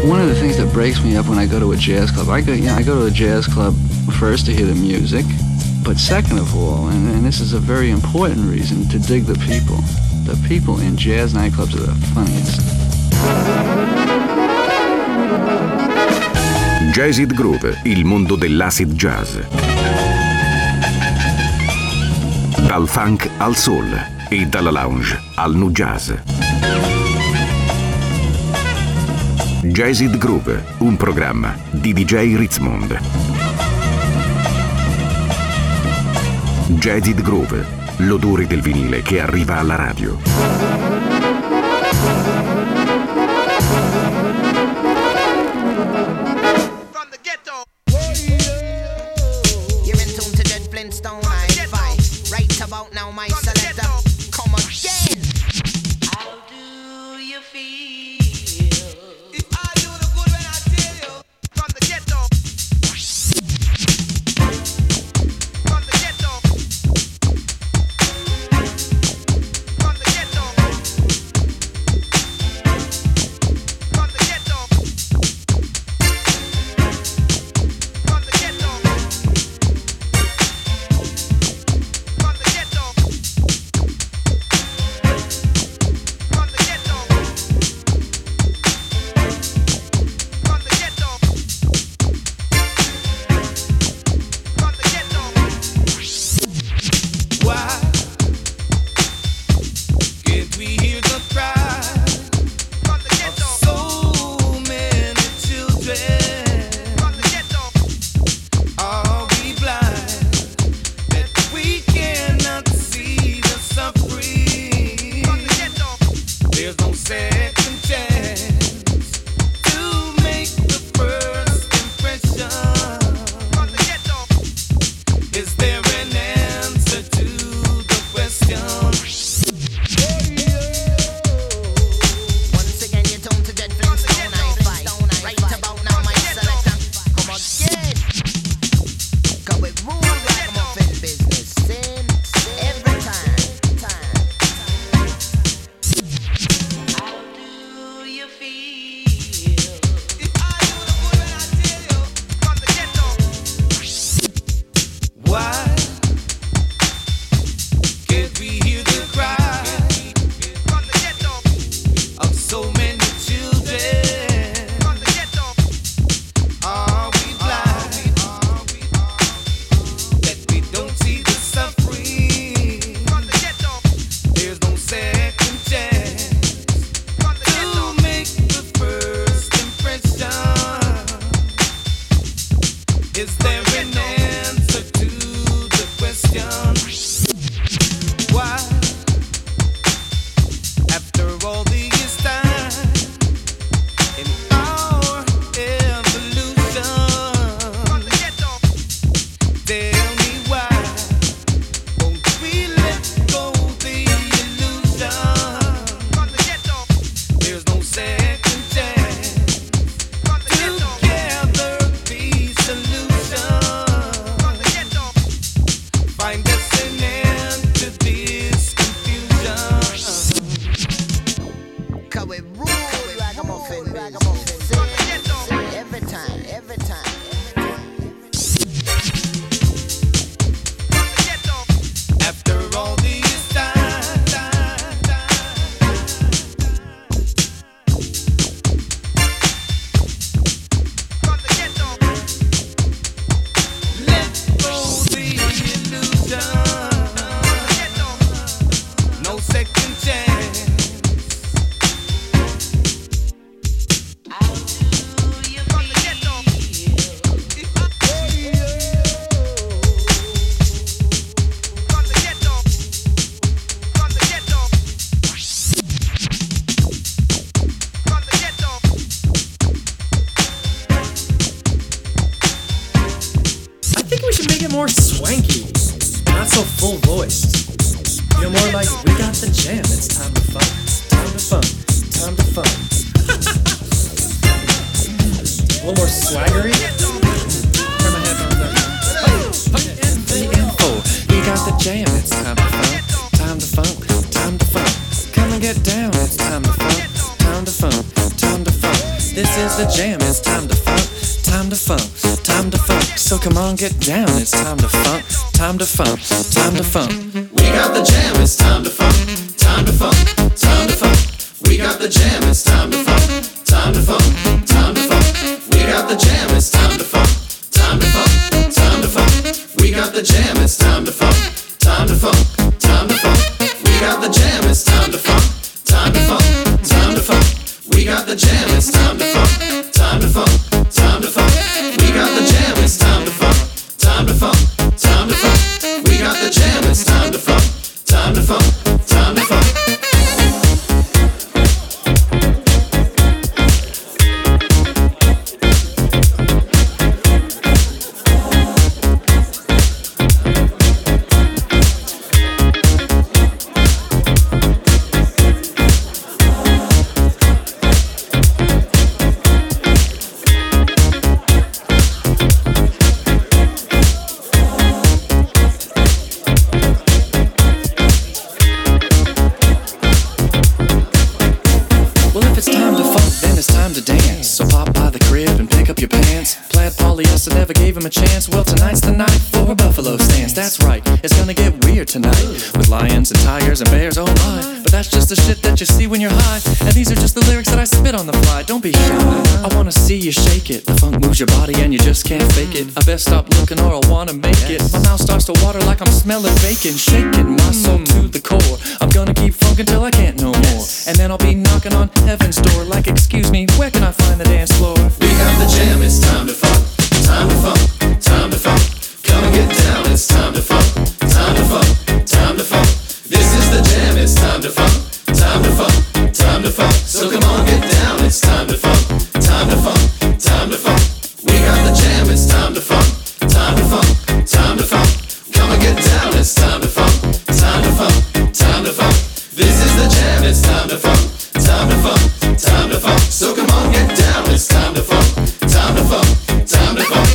One of the things that breaks me up when I go to a jazz club, I go to a jazz club first to hear the music, but second of all, and this is a very important reason, to dig the people. The people in jazz nightclubs are the funniest. Jazzid Groove, il mondo dell'acid jazz. Dal funk al soul e dalla lounge al nu jazz. Jazzid Groove, un programma di DJ Ritzmond. Jazzid Groove, l'odore del vinile che arriva alla radio. more swanky, not so full voiced. You're more like, we got the jam, it's time to fun, time to fun, time to fun. A little more swaggery. Turn my headphones up. The info, we got the jam, it's time to fun, time to fun, time to fun. Come and get down, it's time to fun, time to fun, time to fun. This is the jam, it's time to funk, time to funk, time to funk. So come on, get down, it's time to funk, time to funk, time to funk. We got the jam, it's time to funk, time to funk, time to funk. We got the jam, it's time to funk, time to funk, time to funk. We got the jam, it's time to funk, time to funk, time to funk. We got the jam, it's time to funk, time to funk, time to funk. We got the jam, it's time to funk, time to funk, time to funk. We got the jam, it's time to funk, time to funk, time to funk. We got the jam, it's time to funk, time to funk, time to funk. We got the jam, it's time to funk, time to funk, time to funk. Never gave him a chance. Well, tonight's the night for a buffalo stance. That's right, it's gonna get weird tonight with lions and tigers and bears, oh my. But that's just the shit that you see when you're high. And these are just the lyrics that I spit on the fly. Don't be shy, I wanna see you shake it. The funk moves your body and you just can't fake it. I best stop looking or I'll wanna make it. My mouth starts to water like I'm smelling bacon. Shaking my soul to the core. I'm gonna keep funkin' till I can't no more. And then I'll be knocking on heaven's door like, excuse me, where can I find the dance floor? We got the jam, it's time to funk, time to funk, time to funk. Come and get down, it's time to funk, time to funk, time to funk. This is the jam, it's time to funk, time to funk, time to funk. So come on, get down, it's time to funk, time to funk, time to funk. We got the jam, it's time to funk, time to funk, time to funk. Come and get down, it's time to funk, time to funk, time to funk. This is the jam, it's time to funk, time to funk, time to funk. So come on, get down, it's time to funk, time to funk, time to funk.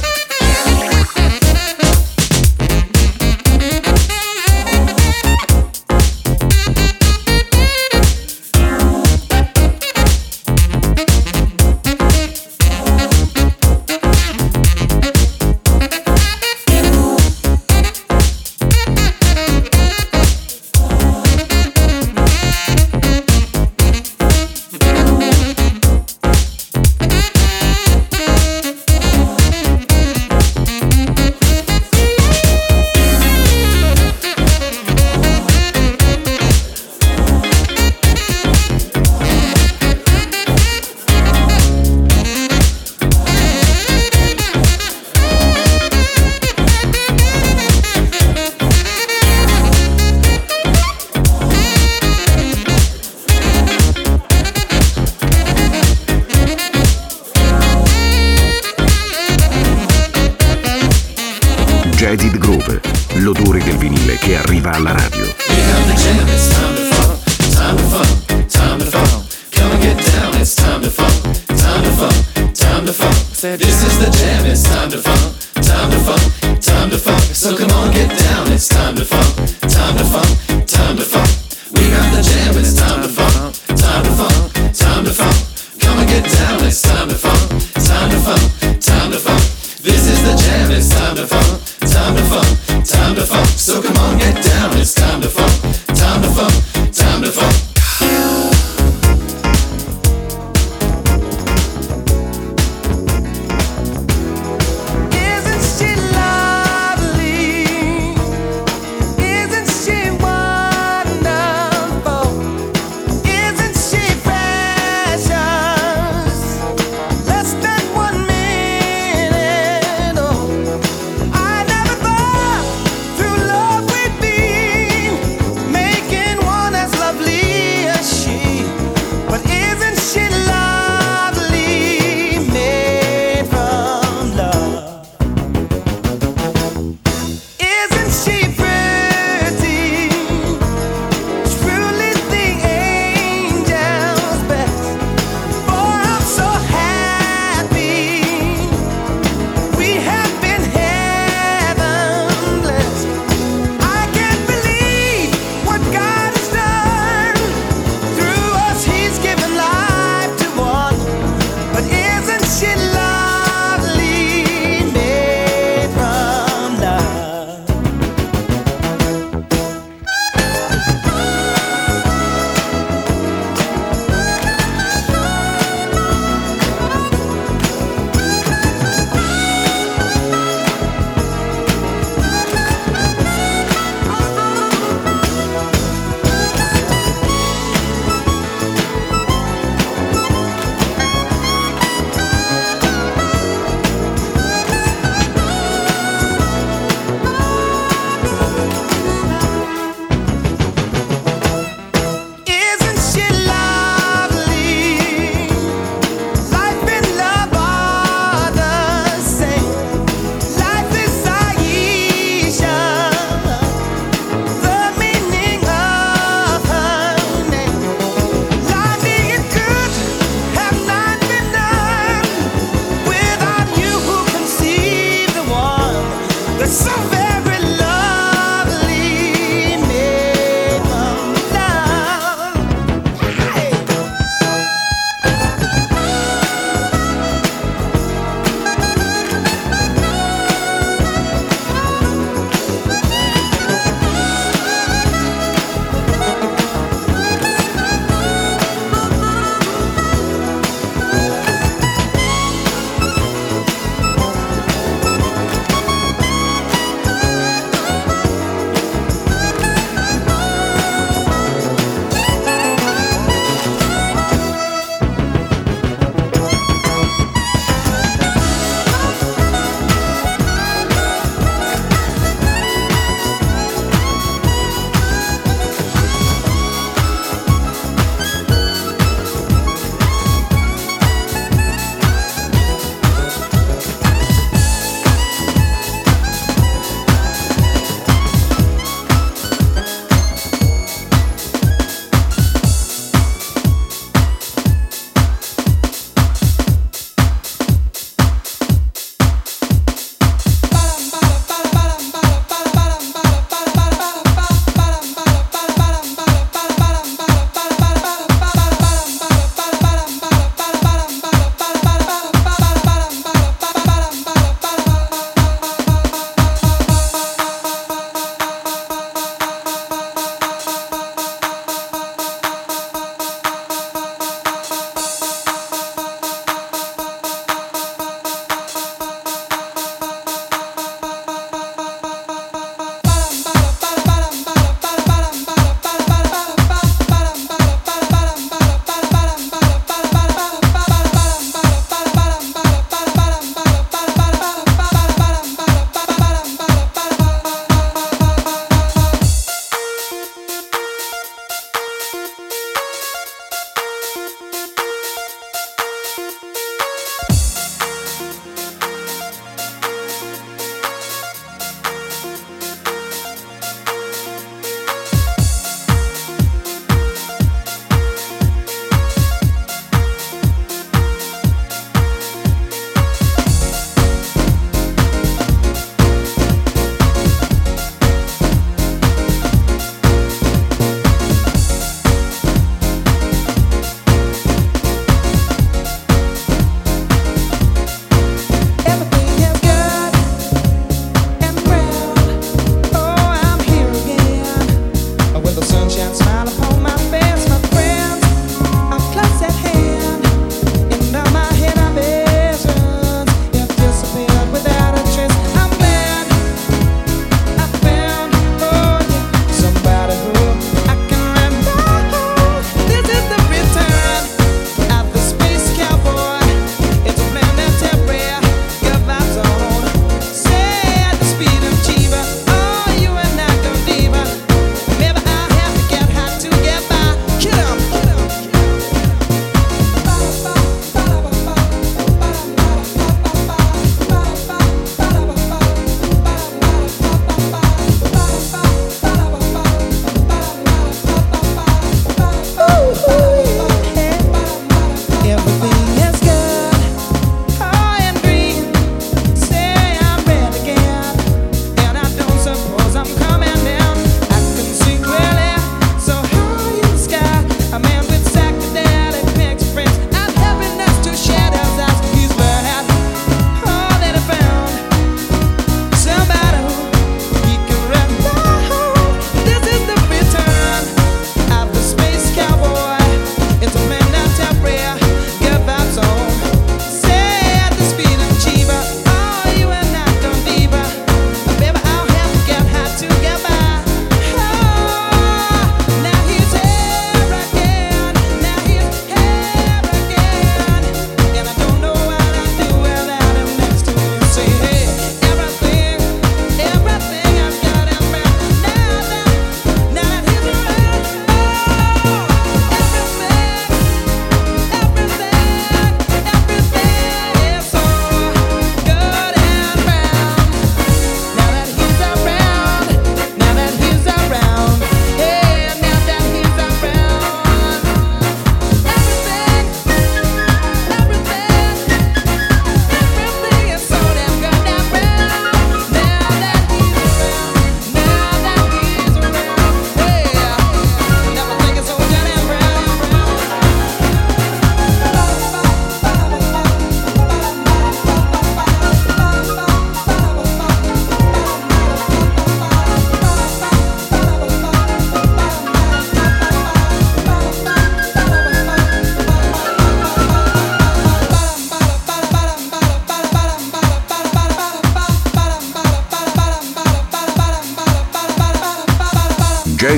Jaded Groove, l'odore del vinile che arriva alla radio. We have the jam, it's time to funk, time to funk, time to funk. Come and get down, it's time to funk, time to funk, time to funk. This is the jam, it's time to funk, time to funk, time to funk. So come on, get down, it's time to funk, time to funk, time to funk. We got the jam, it's time to funk, time to funk, time to funk. Come and get down, it's time to funk, time to funk, time to funk. This is the jam, it's time to funk, time to funk, time to funk. So come on, get down, it's time to funk, time to funk.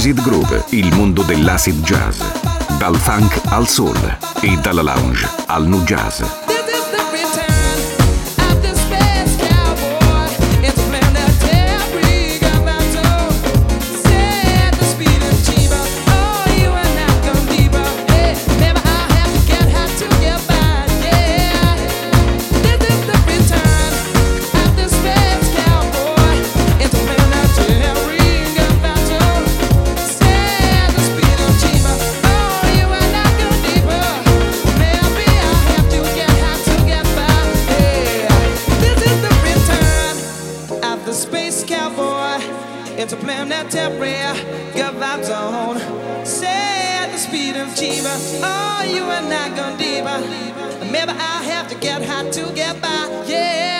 Acid Groove, il mondo dell'acid jazz. Dal funk al soul e dalla lounge al nu jazz. Into playing that temporary good vibes on. Say the speed of Chiba. Oh, you are not gonna diva. Maybe I'll have to get high to get by. Yeah.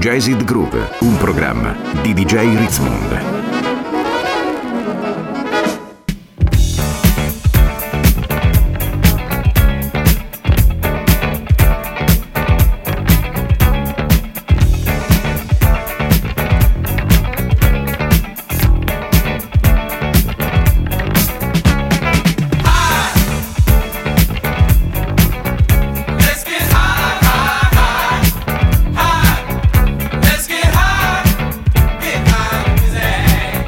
Jazzed Groove, un programma di DJ Ritzmond. Let's get high, get high,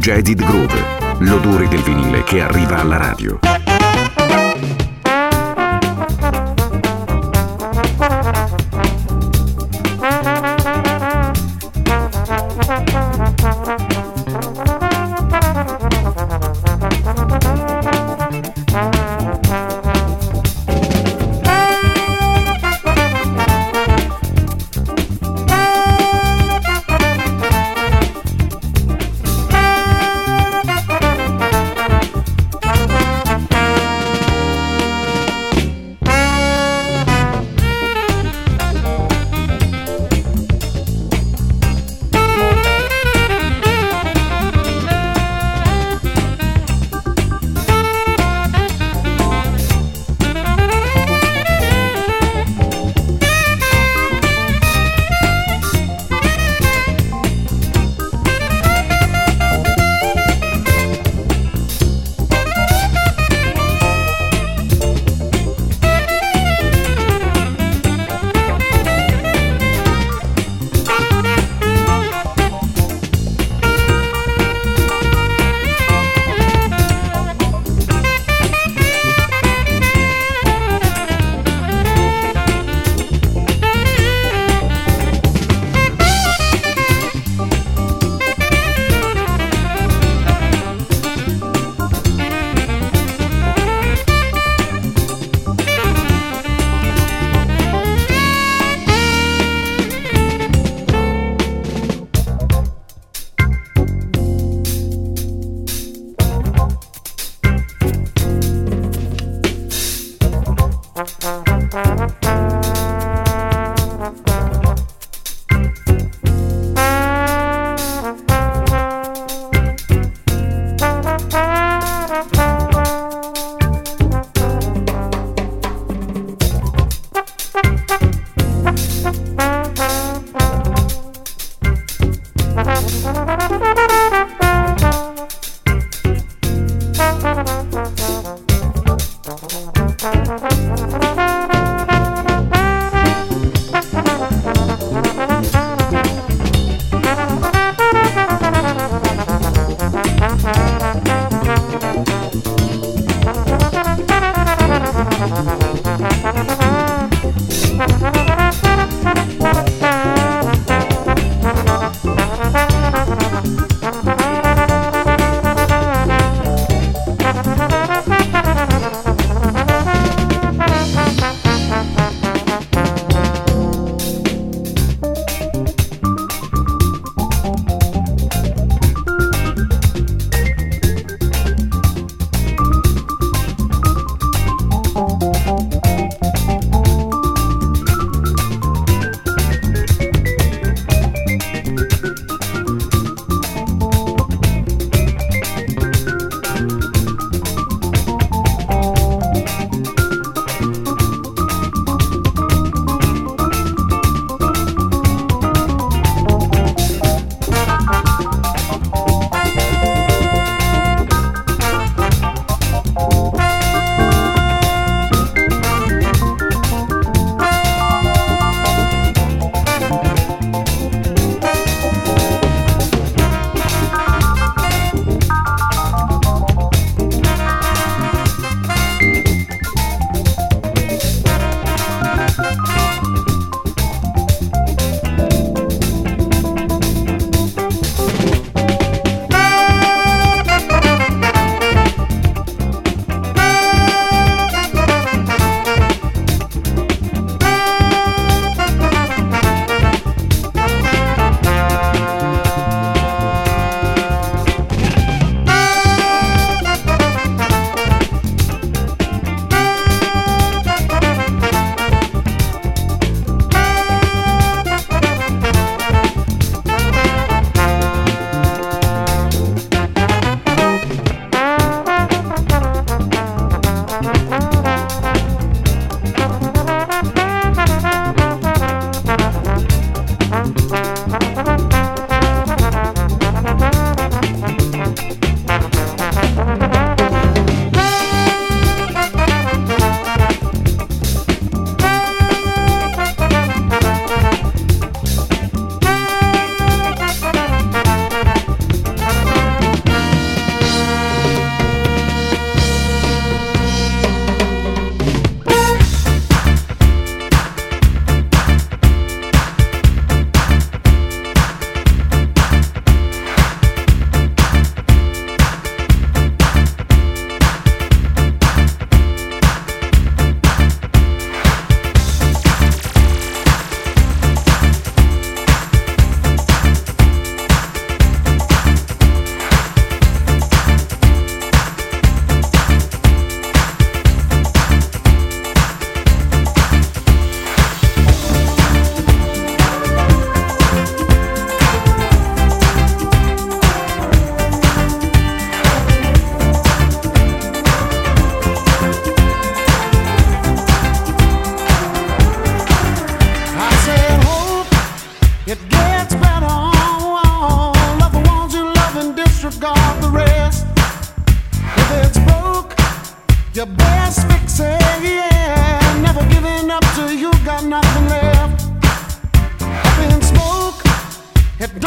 Jaded Groove, l'odore del vinile che arriva alla radio.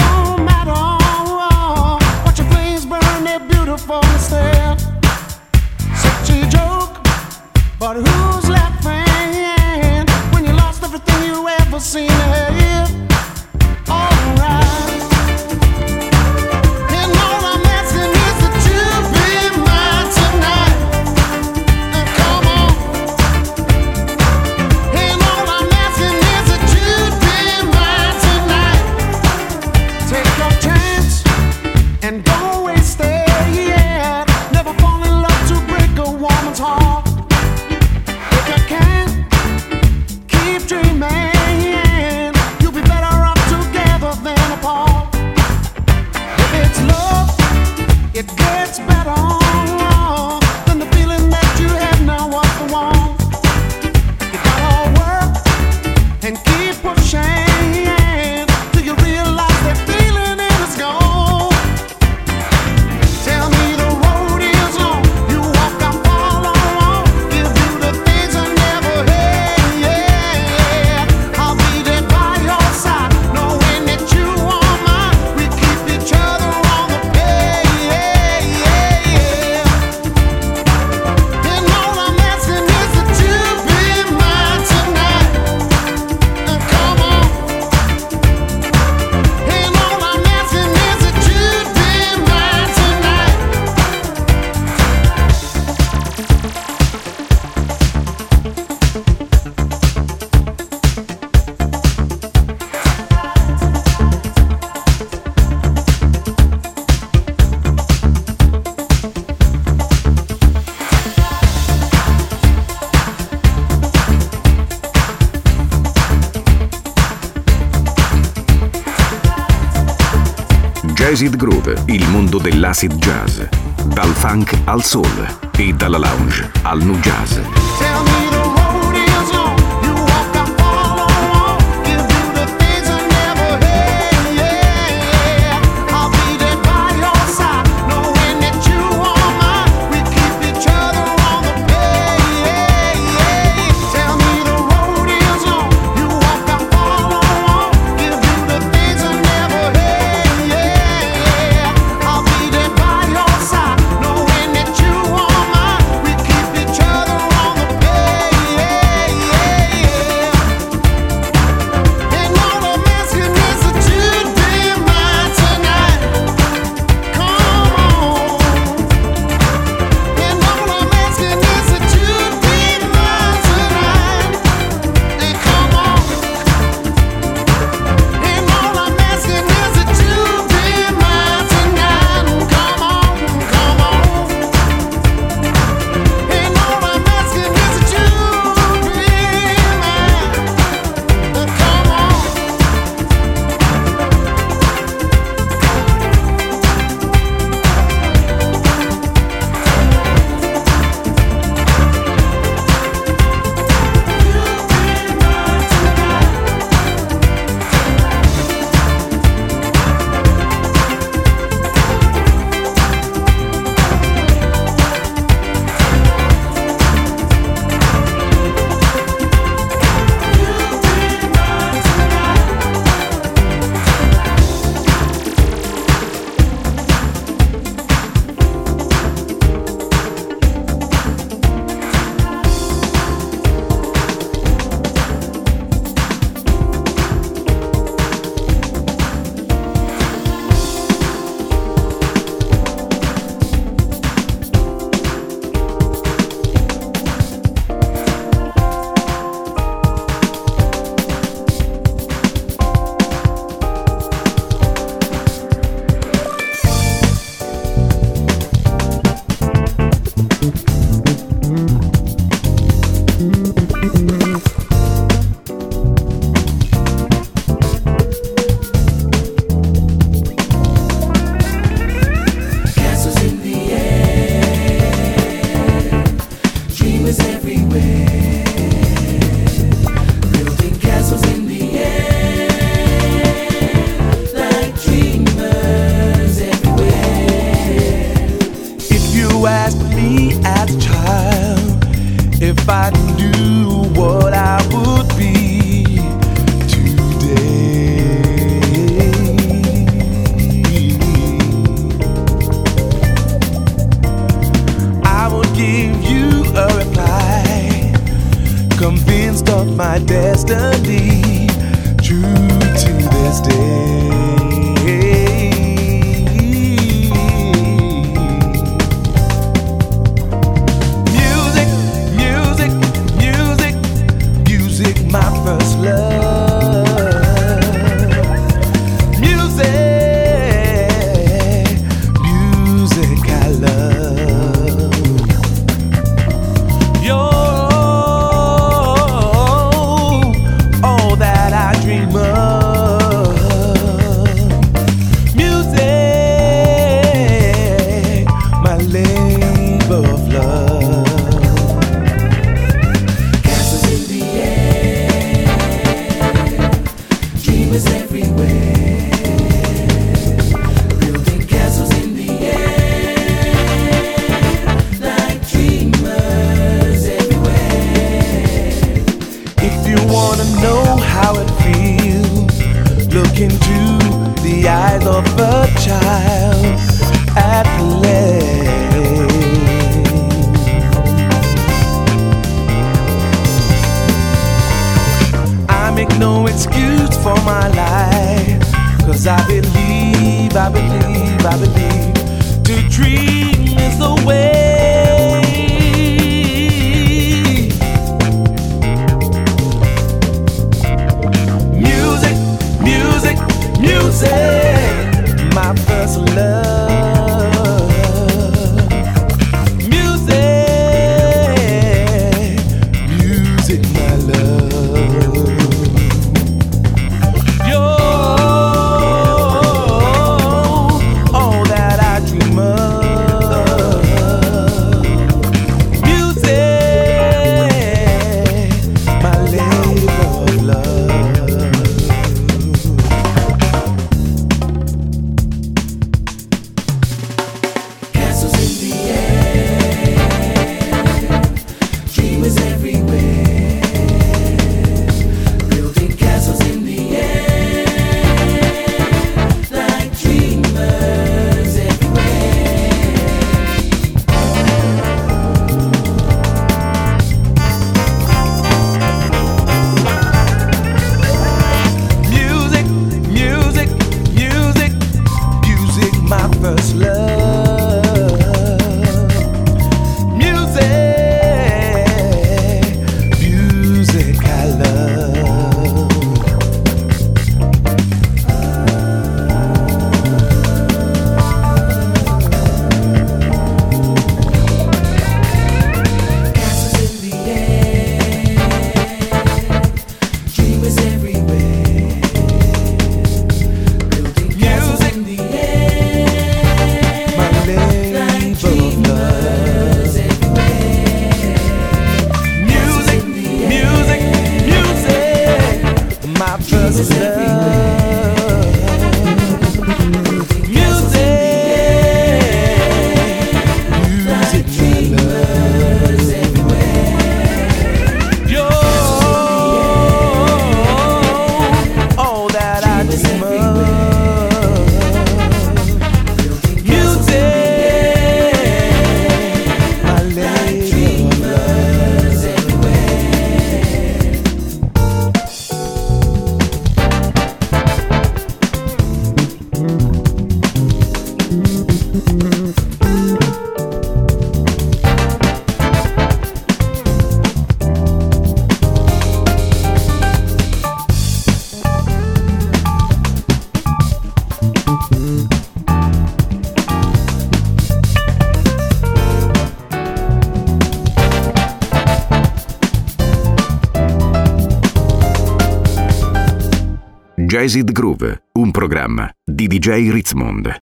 no matter what your flames burn, they're beautiful instead. Such a joke, but who's laughing when you lost everything you ever seen ahead? Alright. And all I'm asking is that you be mine tonight. Come on. And all I'm asking is that you be mine tonight. Take your chance and don't waste it. Yeah. Never fall in love to break a woman's heart. If you can, keep dreaming. You'll be better off together than apart. If it's love, it gets better than the feeling that you have now was the one. You gotta work and keep pushing till you realize that feeling is gone. Tell me the road is long. You walk, I follow on. Give you the things I never had. Yeah, I'll be there by your side, knowing that you are mine. We keep each other on the page. And all I'm asking is that you be mine tonight. Come on. And all I'm asking is that you be mine tonight. Jazzid Groove, il mondo dell'acid jazz. Dal funk al soul e dalla lounge al nu jazz. Tell me the road is long. You walk, I follow on. Give you the things I never had. Yeah, I'll be there by your side, knowing that you are mine. We keep each other on the page. Tell me the road is long. You walk, I follow on. Give you the things I never had. Yeah, I'll be there by your side, knowing that you are mine. We keep each other on the page. of a child at play. I make no excuse for my life, 'cause I believe to dream is the way. Music, music, music, my first love. Music, music, my love. You're all that I dream of. Music, my labor of love. Castles in the air, dreamers everywhere, building castles in the air, like dreamers everywhere. Music, music, music, music, my first love. Music, music, I love. Castles in the air, dreamers everywhere, building castles in the air, My labor of love. Music, music, music, my first love. Music, music, my love. You're all that I dream of. Music, my labor of Jazzed Groove, un programma di DJ Ritzmond.